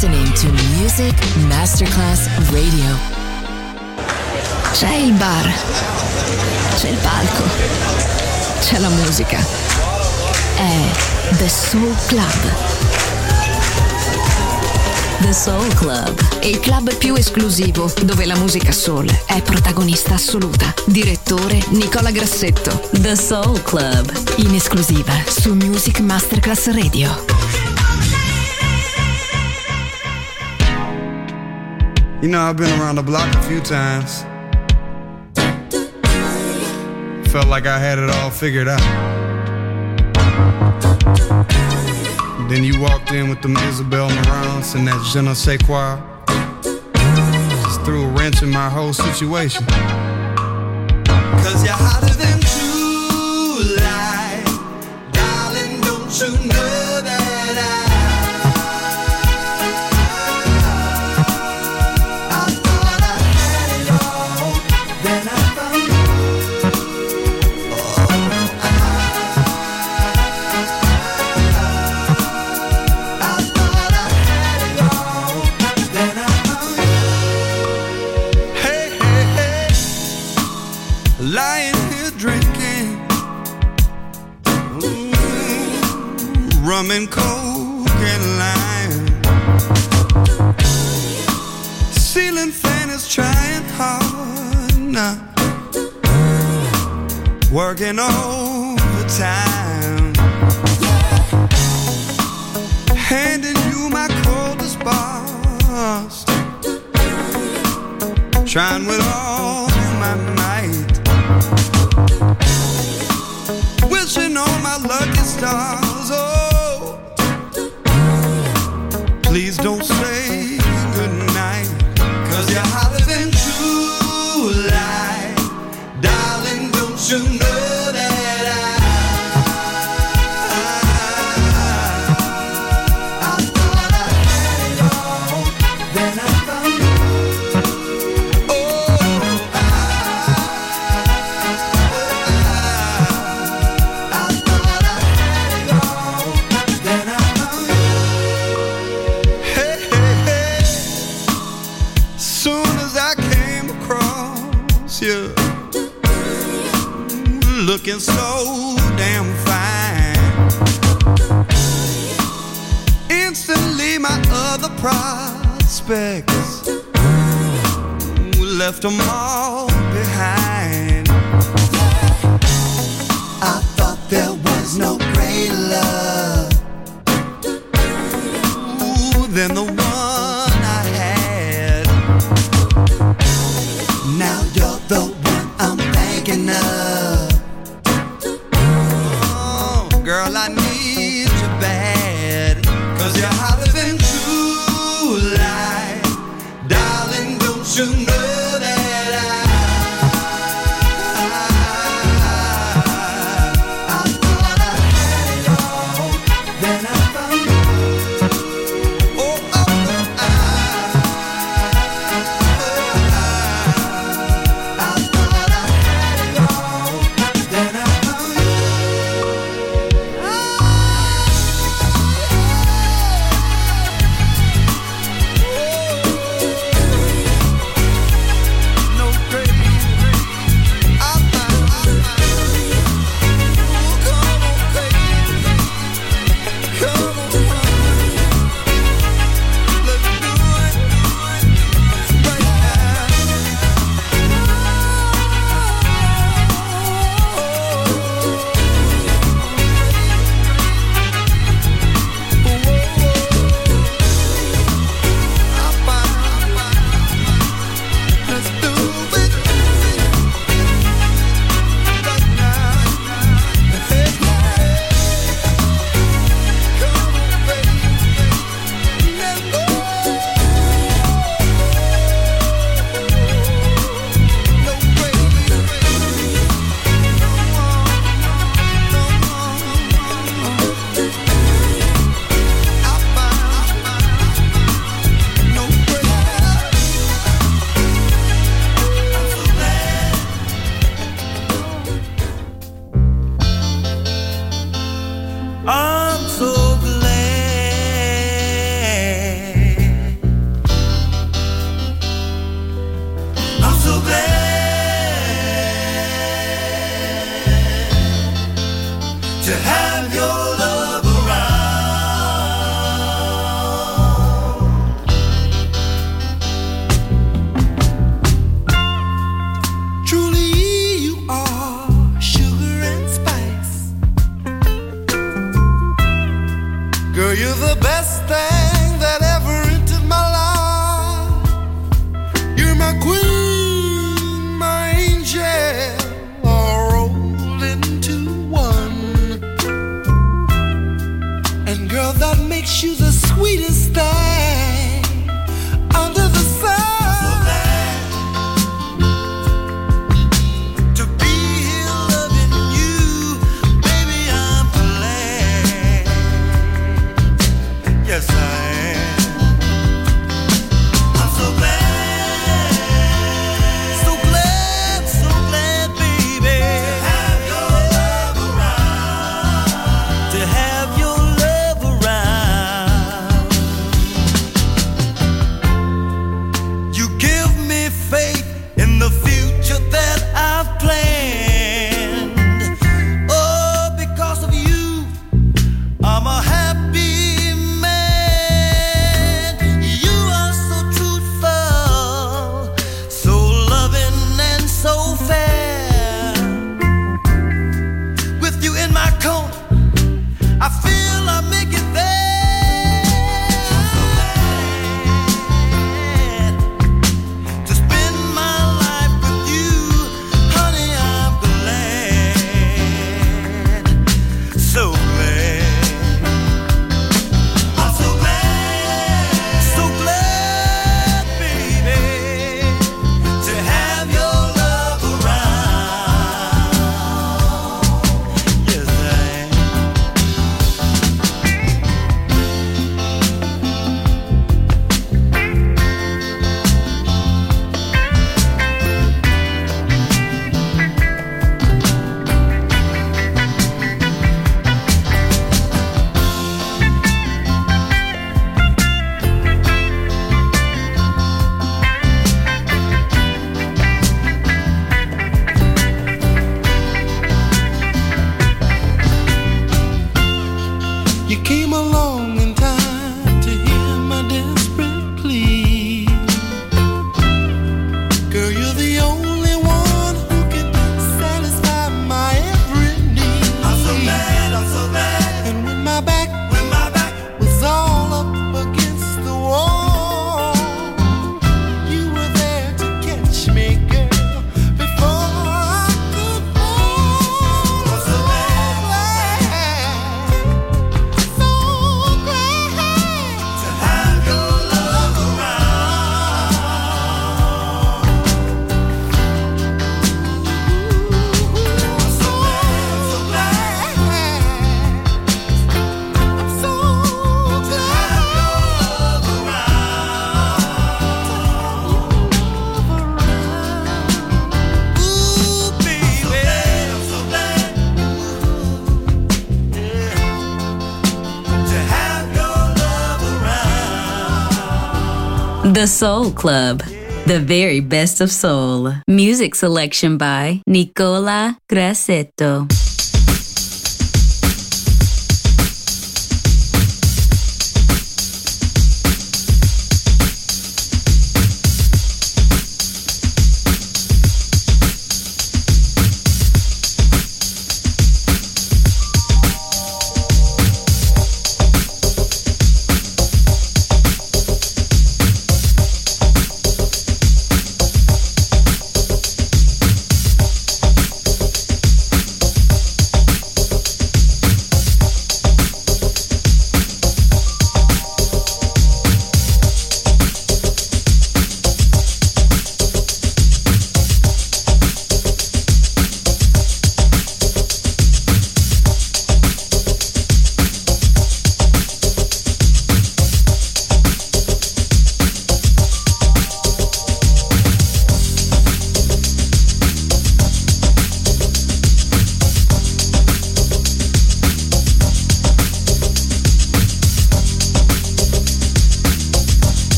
listening to Music Masterclass Radio. C'è il bar, c'è il palco, c'è la musica. È The Soul Club. The Soul Club, il club più esclusivo dove la musica soul è protagonista assoluta. Direttore Nicola Grassetto. The Soul Club, in esclusiva su Music Masterclass Radio. You know, I've been around the block a few times. Felt like I had it all figured out. Then you walked in with them Isabel Marants and that je ne sais quoi. Just threw a wrench in my whole situation. 'Cause you're hotter than true light, darling, don't you know that I thought I had it all, then I found you. Lying here drinking rum and coke and lime. Ceiling fan is trying hard now, working overtime, handing you my coldest bars, trying with all my might, wishing on my lucky stars. Oh, please don't say goodnight, 'cause you're hotter than true light, darling, don't you know that I thought I had it all, then I found you. Looking so damn fine, instantly my other prospects left them all behind. I thought there was no greater love than the one I had. Now you're the one I'm thinking of. Girl, I need you bad, 'cause you're hotter than true light, darling, don't you know that I thought I had it all, then I found you. Oh, oh, oh, I thought I had it all, Girl, you're the best thing that ever entered my life. You're my queen, my angel, all rolled into one. And girl, that makes you the sweetest thing under the sun. Yes, I am. I'm so glad, so glad, so glad, baby, to have your love around, to have your love around. You give me faith in the future that I've planned. Oh, because of you, I'm a happy The Soul Club, the very best of soul. Music selection by Nicola Grassetto.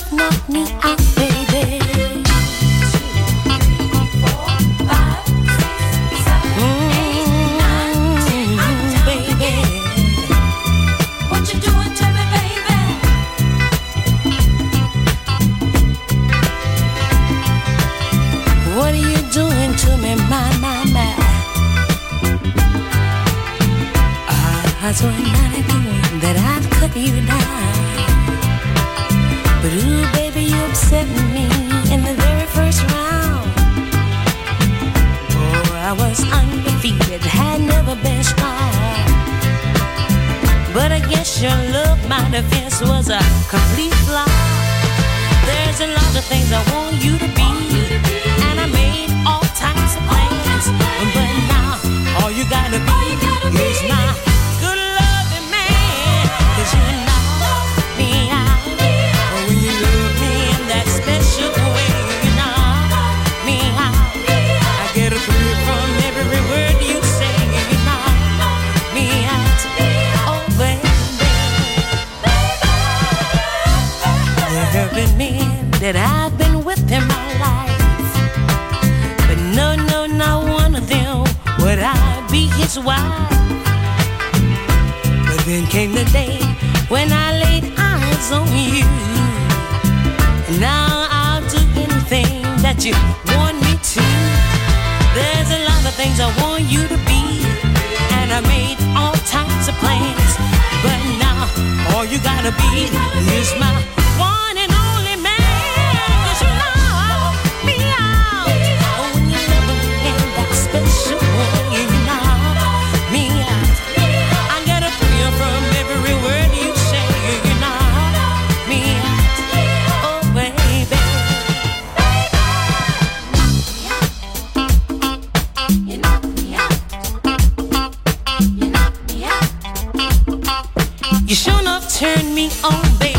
knock me out, baby. 2, 3, 4, 5, 6, 7, 8, 9, 10, baby. What you doing to me, baby? What are you doing to me, my? I swear not again that I'd cut you down. But ooh, baby, you upset me in the very first round. Oh, I was undefeated, had never been strong. But I guess your love, my defense was a complete flop. There's a lot of things I want you to be, and I made all types of plans. But now, all you gotta be is my good loving man. 'Cause you knock me out when you love me in that special way. You knock me out, I get a thrill from every word you say. You knock me out, oh baby. There have been men that I've been with in my life, but no, not one of them would I be his wife. But then came the day when I laid eyes on you. Now I'll do anything that you want me to. There's a lot of things I want you to be, and I made all types of plans. But now all you gotta be is my one and only man. 'Cause you knock me out when you love me in that special way. You knock me out, I get a thrill from every word you say. You knock me out, oh baby. You knock me out, you knock me out. You sure enough turned me on, baby.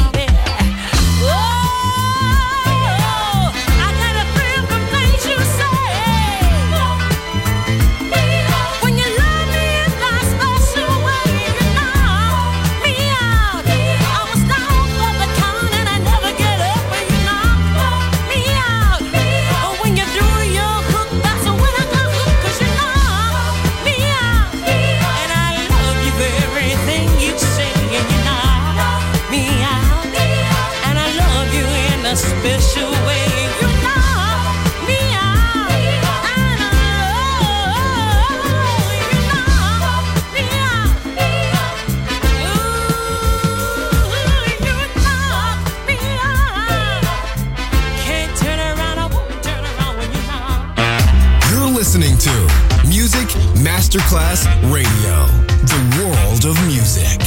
Special way, you knock me out, and I love you, knock me out. Ooh, you knock me out. Can't turn around, I won't turn around when you knock. You're listening to Music Masterclass Radio, the world of music.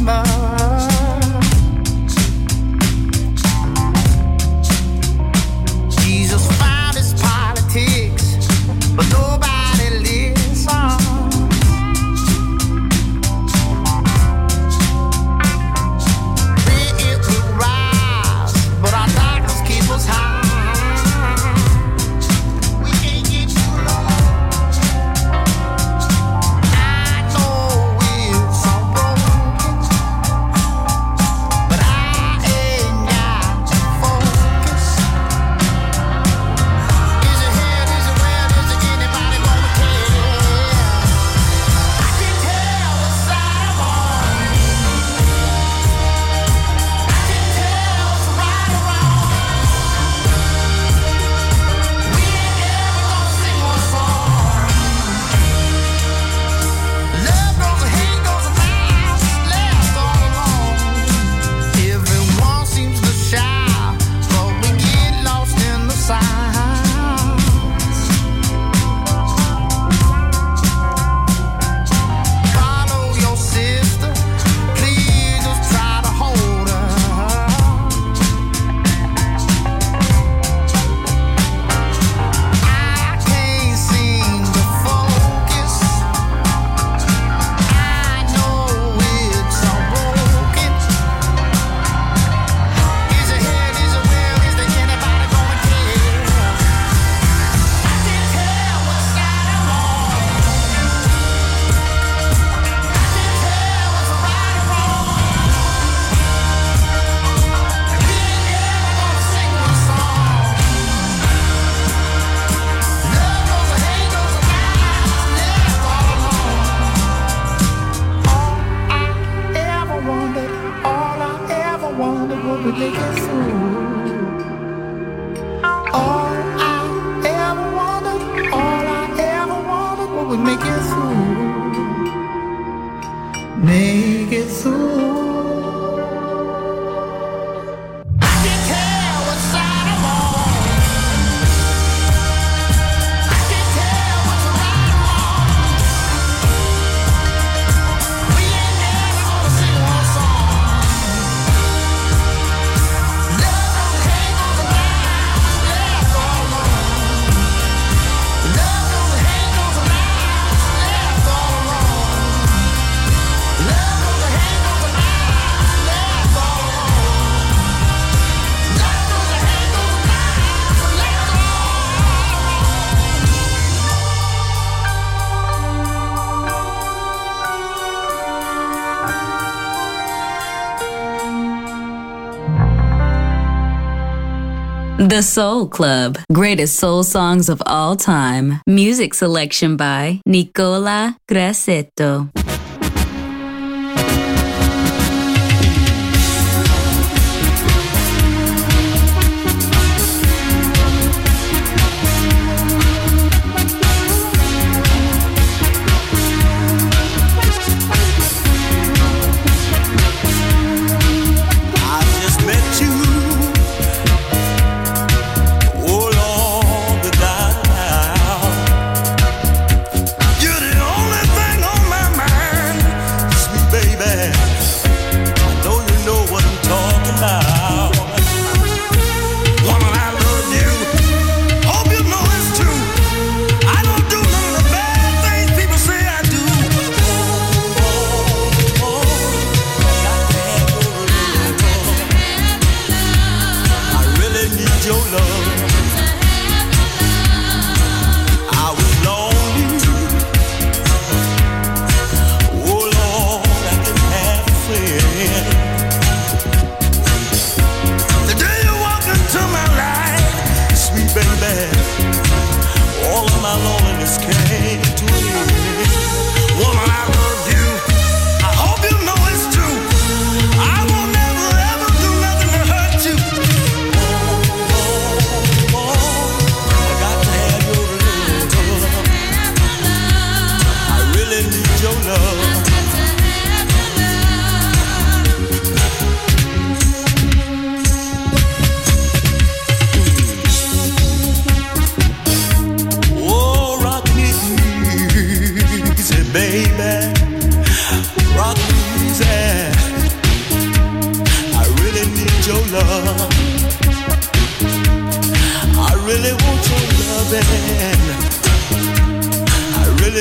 remember. Jesus found his politics, but nobody listens. It will rise, but our darkness keeps us high. We can't get too low. I know it's so broken, but I ain't got to focus. Is it here? Is it where? Is it anybody gonna care? I can tell what side I'm on. I can tell what's right or wrong. We ain't ever gonna sing one song. Love goes and hate goes and laughs left all alone. Everyone seems to shout, but we get lost in the sounds. Follow your sister, please just try to hold her. I can't seem to focus. I know it's so broken. Is it here? Is it where? Is there anybody gonna care? I can tell what side I'm on. I can tell what's right or wrong. We ain't ever gonna sing one song. Love goes and hate goes and laughs left all alone. All I ever wanted was to make it through. All I ever wanted was to make it through. Make it through. I can tell what side I'm on. I can tell what's right or wrong. We ain't never gonna sing one song. Love goes and hate goes and laughs left all alone. Love goes and hate goes and laughs left all alone. Love goes and hate goes and laughs left all alone. Love goes and hate goes and laughs left all The Soul Club. Greatest soul songs of all time. Music selection by Nicola Grassetto. I just met you. Oh Lord, without a doubt, you're the only thing on my mind, sweet baby. I know you know what I'm talking about. Woman, I love you. Hope you know it's true. I don't do none of the bad things people say I do. Got to have your love. I really need your love. I was lonely. Oh Lord, I didn't have a friend. The day you walked into my life, sweet baby, all of my loneliness came to an end. Woman, I love you. I hope you know it's true. I won't never ever do nothing to hurt you. I got to have your love. I really need your love. Oh, rock me easy, baby. Rock me easy.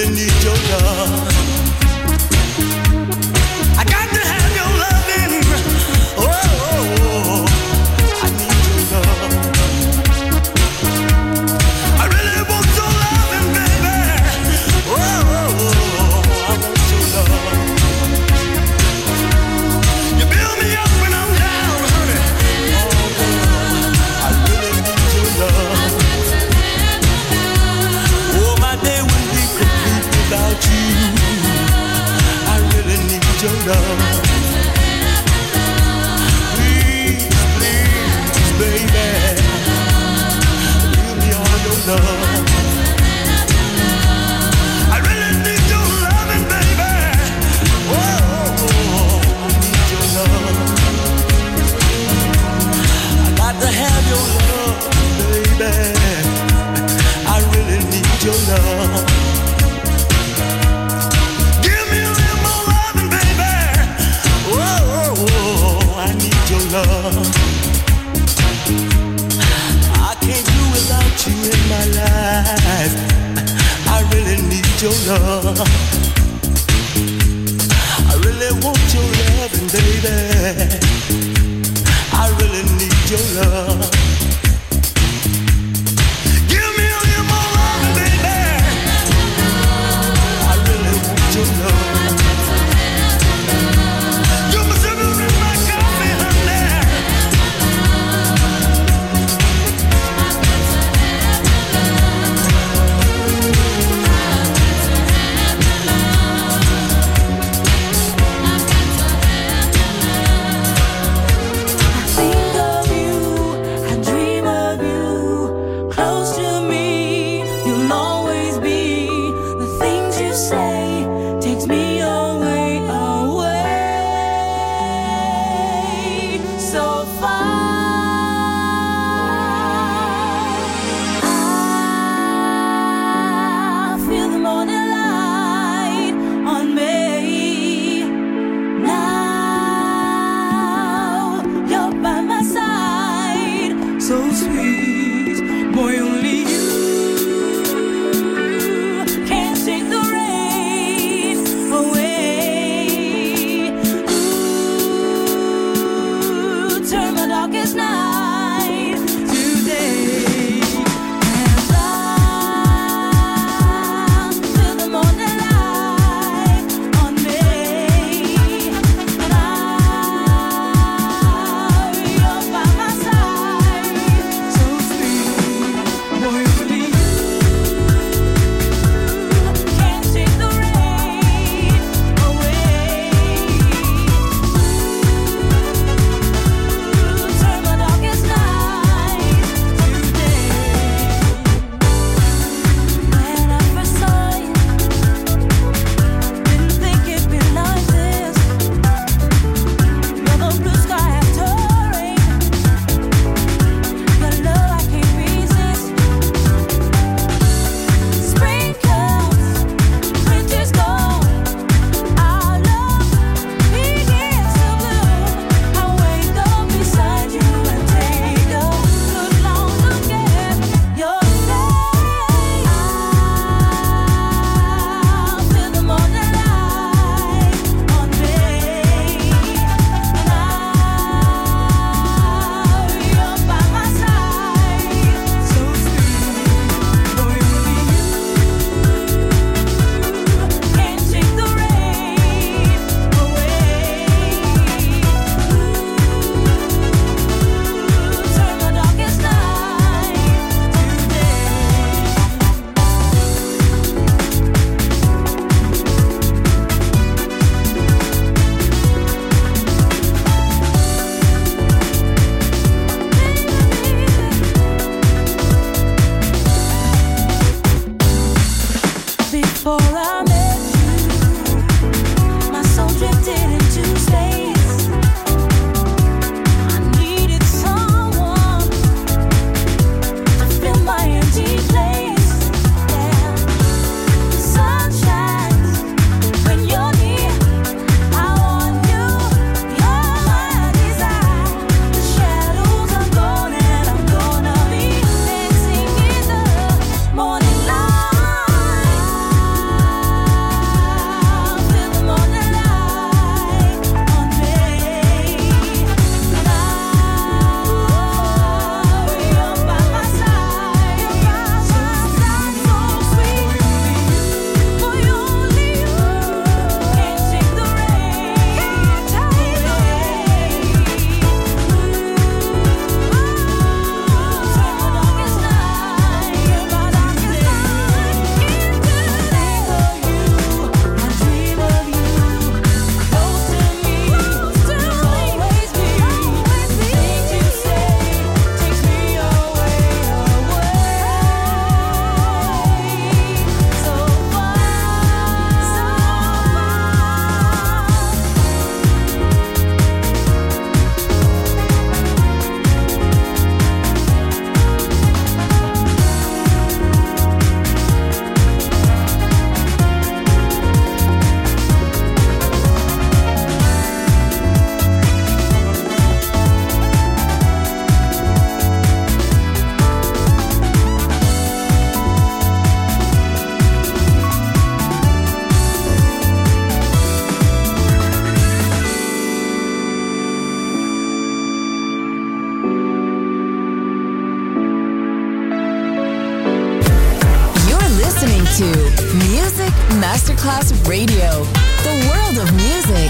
really need your love. I got to have your loving. Oh, I need your love. I really want your loving, baby. Oh, I want your love. You build me up when I'm down, honey. Oh, I really need your love. Oh, my day will be complete without you. I really need your love. Please, please, baby, give me all your love. I really need your loving, baby. Oh, I need your love. I got to have your love, baby. I really need your love. Give me a little more loving, baby. Oh, I need your love. I can't do without you in my life. I really need your love. I really want your loving, baby. I really need your love. Give me a little more loving, baby. I really want your love. You're my sugar and my coffee, honey. Think of you, I dream of you. Close to me, you'll always be. The things you say takes me away, away, so far. I feel the morning light on me. Now you're by my side, so sweet, boy. Only you can take the rain away. Ooh, turn my darkest night today. As I feel the morning light on me. You're by my side, so sweet, boy. Only you can take the rain away. Turn my darkest night today. When I first saw you, didn't think it'd be like this. You're the blue sky after rain. Your love I can't resist. Spring comes, winter's gone. Our love begins to bloom. I wake up beside you and take a good long look at your face. I feel the morning light on me. Now you're by my side, so sweet, boy. Only you can take the rain away. Turn my darkest night today. Before I met you, my soul drifted into space. I needed someone to fill my empty place. Yeah, the sun shines when you're near. I want you, you're my desire. The shadows are gone and I'm gonna be dancing in the morning light. Music Masterclass Radio. The world of music.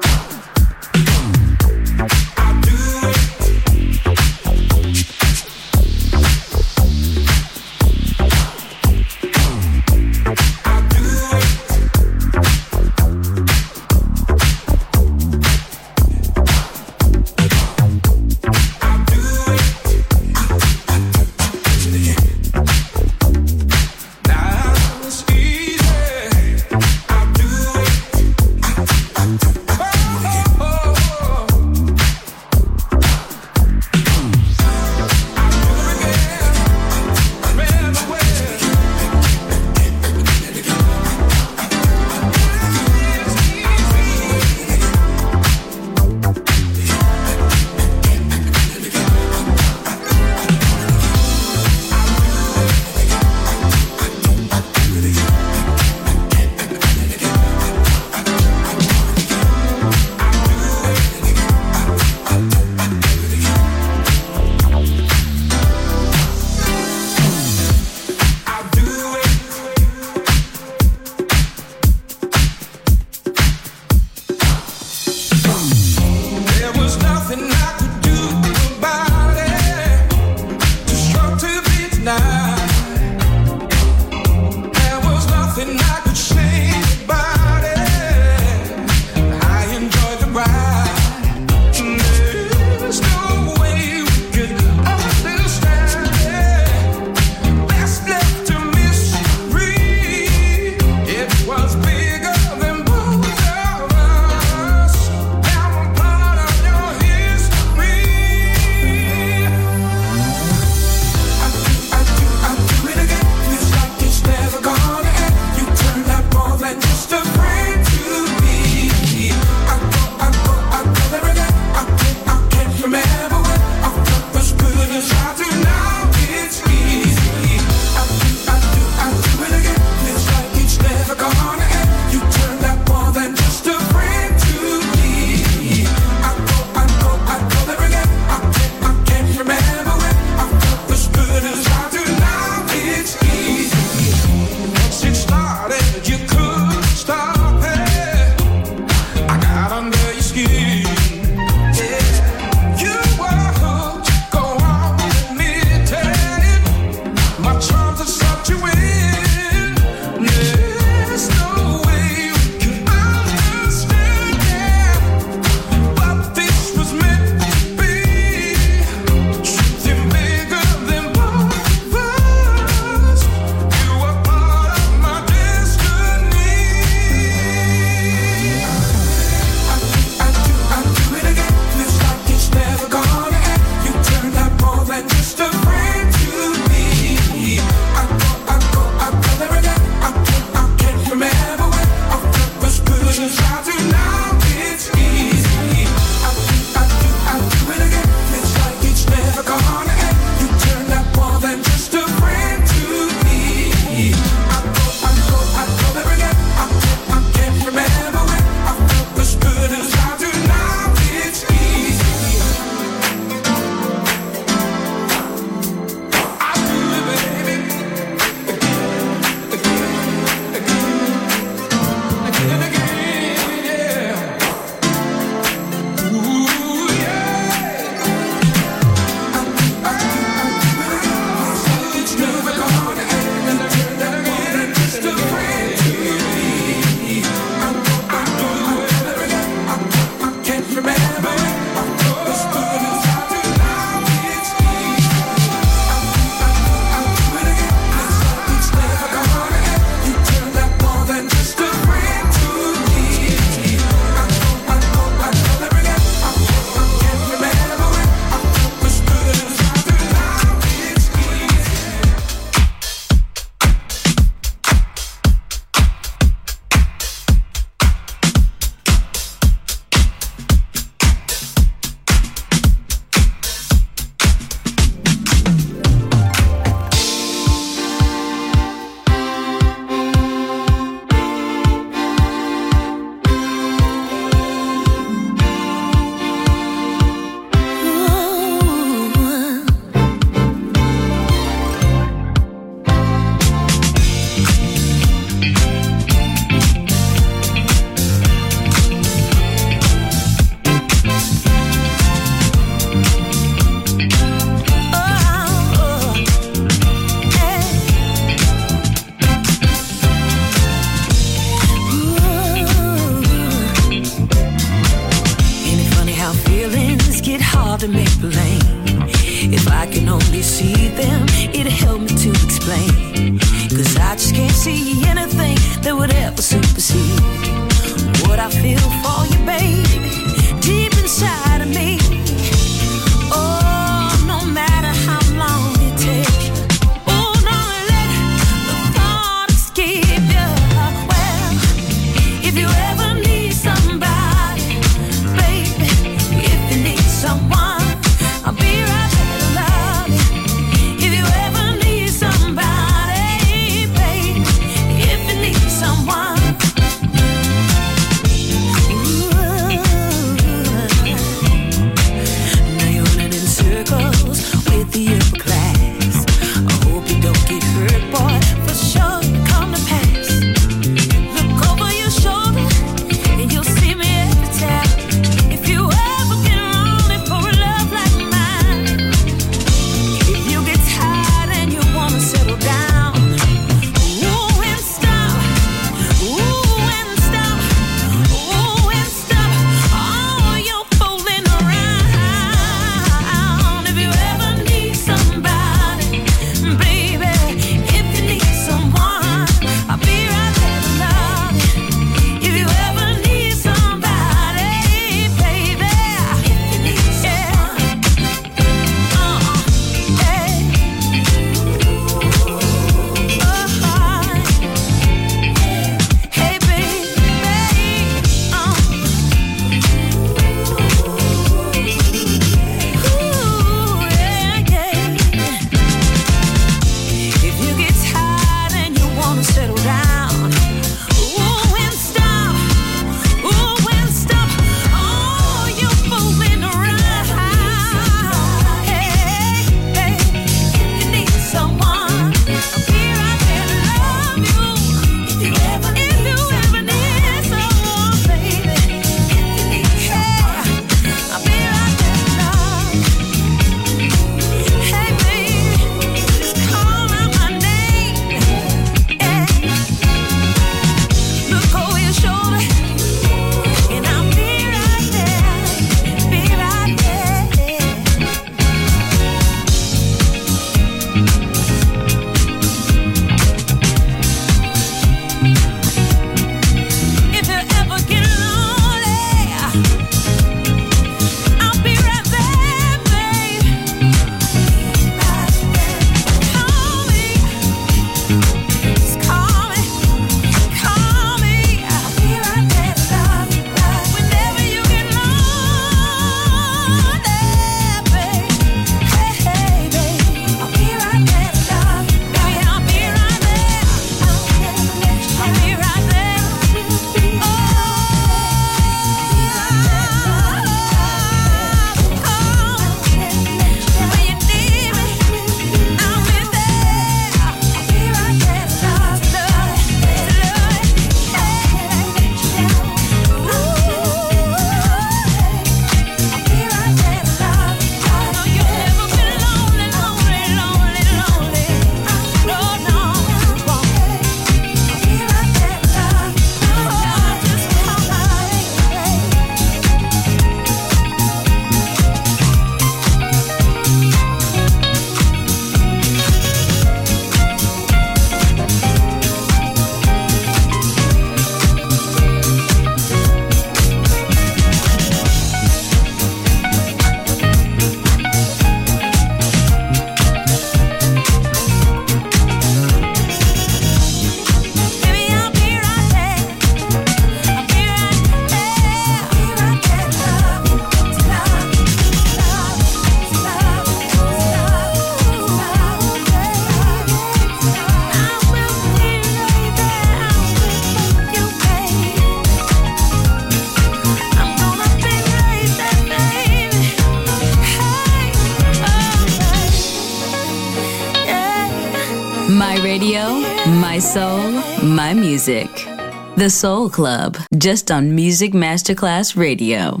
My radio, my soul, my music. The Soul Club, just on Music Masterclass Radio.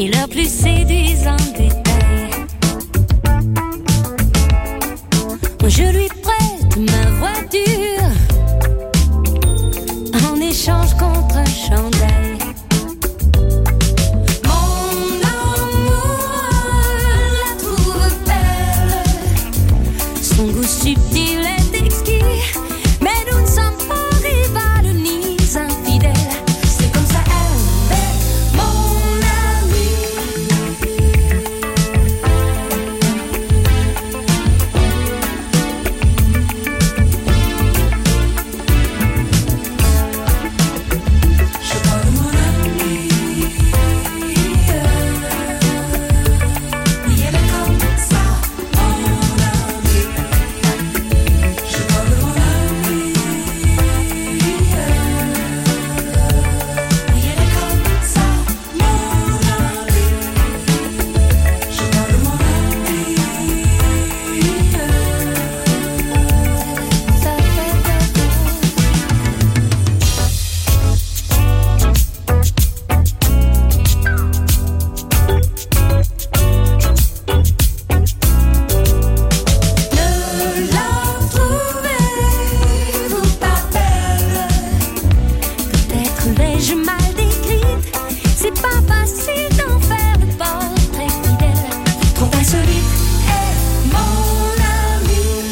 et leurs plus séduisants détails. Je lui prête ma voiture en échange contre un chandail. Mon amour la trouve belle, son goût subtil est exquis, mais nous ne sommes pas rivales ni infidèles. C'est comme ça elle est mon amie. Je parle de mon amie. Oui, elle est comme ça, mon amie. Je parle de mon amie. Oui, elle est comme ça, mon amie. Je parle de mon amie. Ça fait Ne la trouvez-vous pas belle? Peut-être l'ai-je mal décrite. C'est pas facile d'en faire le portrait fidèle. Trop insolite est mon ami.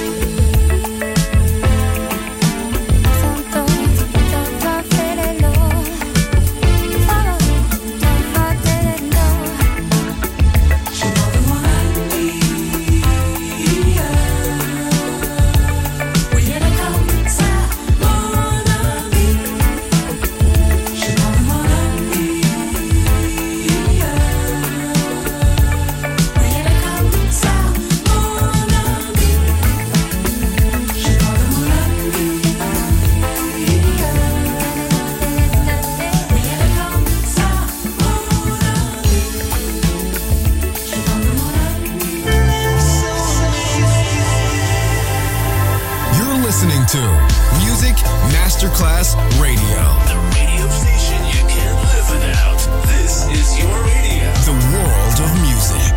Je parle de mon ami. Oui, elle est comme ça, mon ami. Je parle de mon ami. Oui, elle est comme ça, mon ami. Je parle de mon ami. Oui, elle est comme ça, mon ami. Je parle de mon ami. You're listening to Music Masterclass Radio. The radio station you can't live without. This is your radio. The world of music.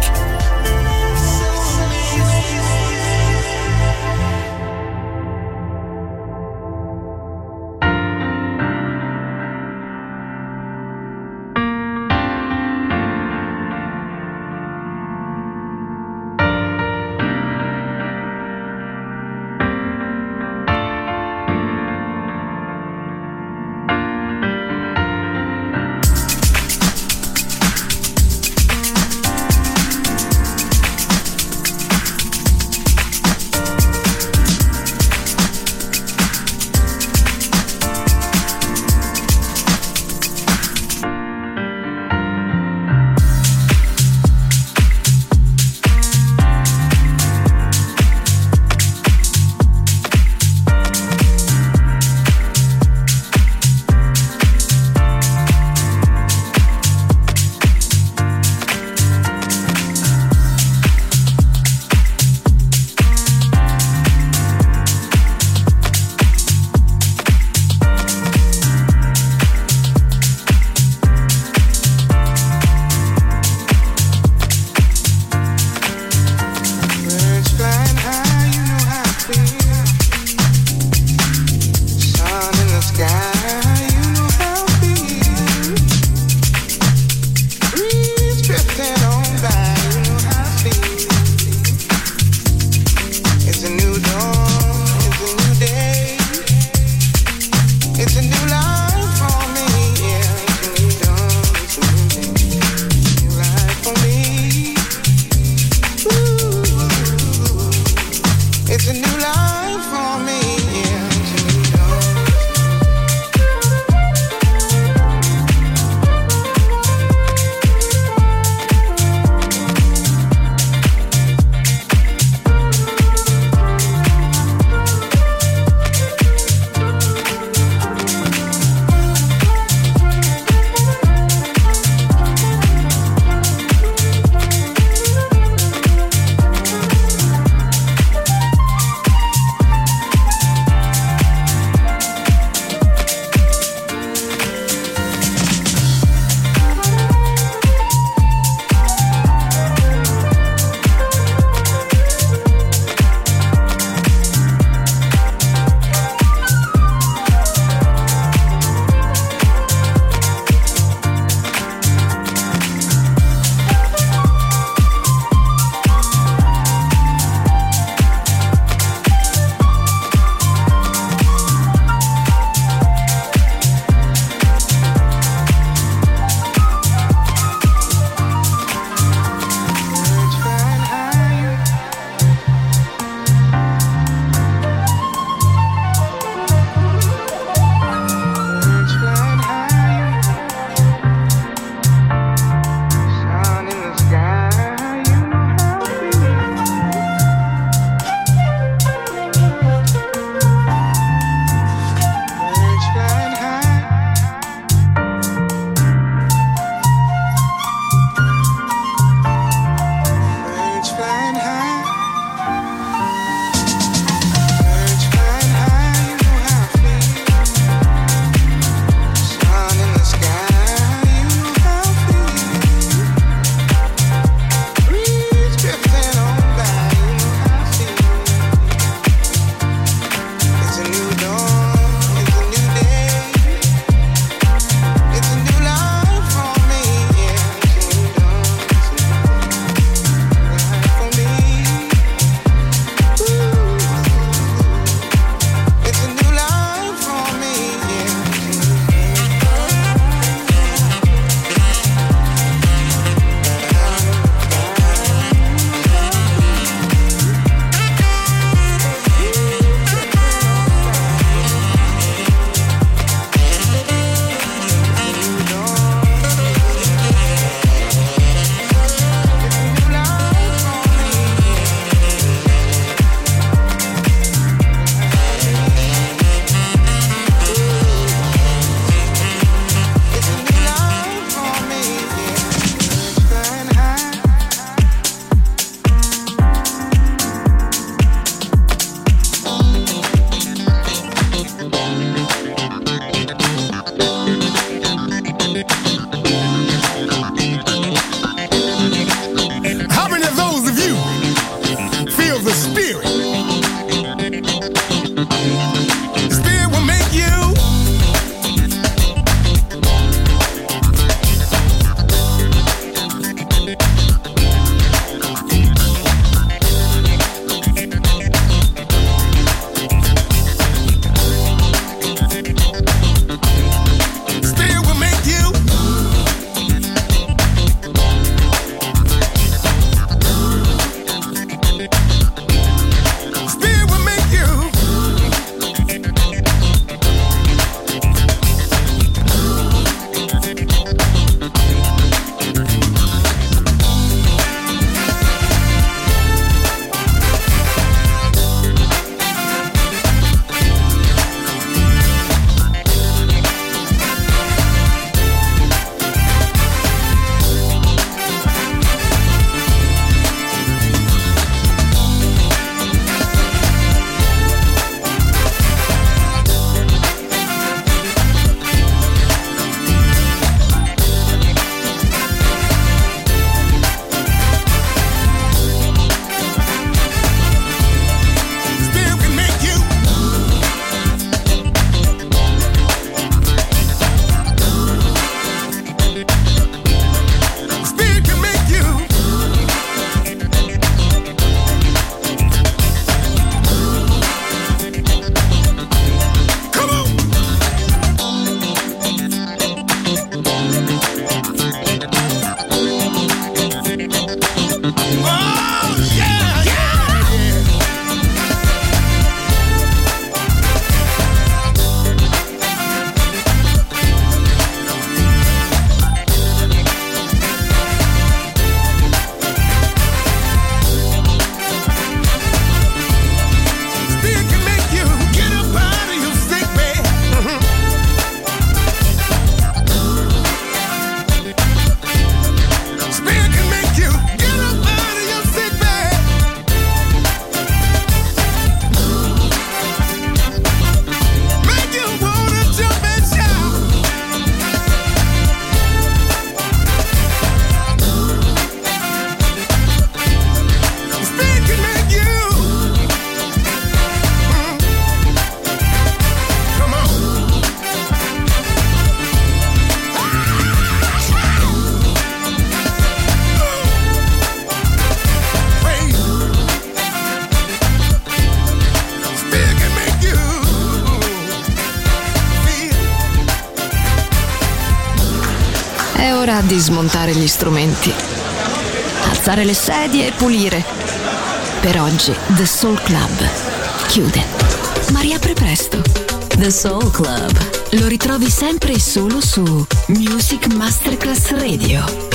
di smontare gli strumenti, alzare le sedie e pulire. Per oggi The Soul Club chiude, ma riapre presto. The Soul Club lo ritrovi sempre e solo su Music Masterclass Radio.